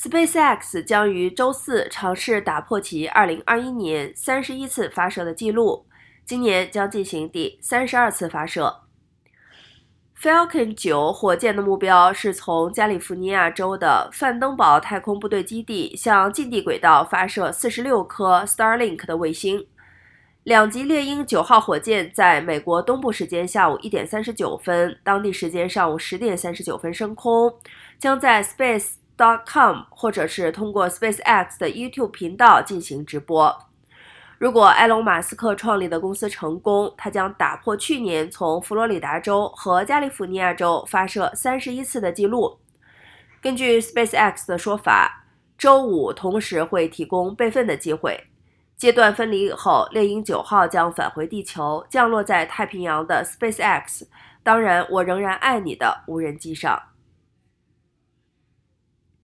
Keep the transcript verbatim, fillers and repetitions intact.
SpaceX 将于周四尝试打破其二零二一年三十一次发射的记录，今年将进行第三十二次发射。Falcon 九火箭的目标是从加利福尼亚州的范登堡太空部队基地向近地轨道发射四十六颗 Starlink 的卫星。两级猎鹰九号火箭在美国东部时间下午一点三十九分，当地时间上午十点三十九分升空，将在 space dot com 或者是通过 SpaceX 的 YouTube 频道进行直播。如果埃隆·马斯克创立的公司成功，他将打破去年从佛罗里达州和加利福尼亚州发射三十一次的记录。根据 SpaceX 的说法，周五同时会提供备份的机会。阶段分离以后，猎鹰九号将返回地球，降落在太平洋的 SpaceX 当然我仍然爱你的无人机上。